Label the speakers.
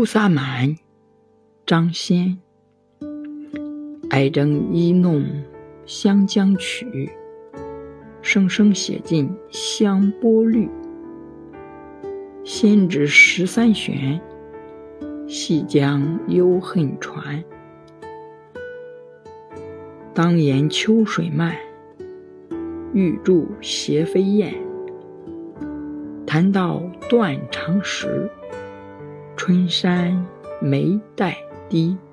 Speaker 1: 菩萨蛮，张先。哀征一弄湘江曲，声声写尽香波绿。先知13弦，细将幽恨传。当言秋水漫，欲著斜飞燕。谈到断肠时，春山眉黛低。